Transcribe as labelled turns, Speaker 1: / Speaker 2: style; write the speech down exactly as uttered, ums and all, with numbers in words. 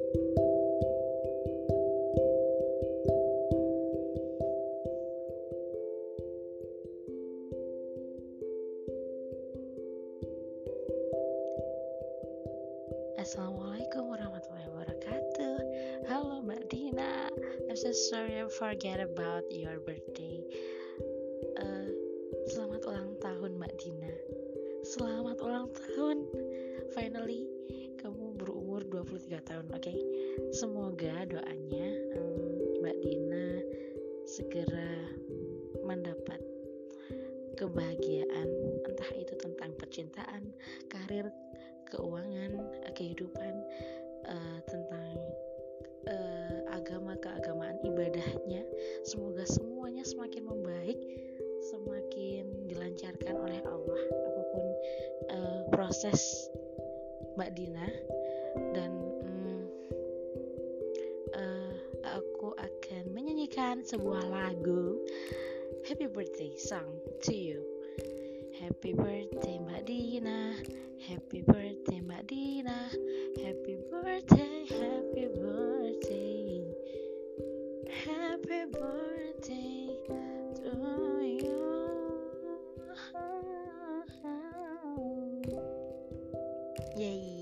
Speaker 1: Assalamualaikum warahmatullahi wabarakatuh. Halo Mbak Dina, I'm so sorry I forget about your birthday. uh, Selamat ulang tahun Mbak Dina. Selamat ulang tahun. Finally kamu berumur dua puluh tiga tahun, oke? Okay? Semoga doanya um, Mbak Dina segera mendapat kebahagiaan, entah itu tentang percintaan, karir, keuangan, kehidupan, uh, tentang uh, agama, keagamaan, ibadahnya. Semoga semuanya semakin membaik, semakin dilancarkan oleh Allah apapun uh, proses Mbak Dina. Dan um, uh, aku akan menyanyikan sebuah lagu Happy Birthday song to you. Happy birthday Mbak Dina, happy birthday Mbak Dina, happy birthday, happy birthday, happy birthday to you. Yay.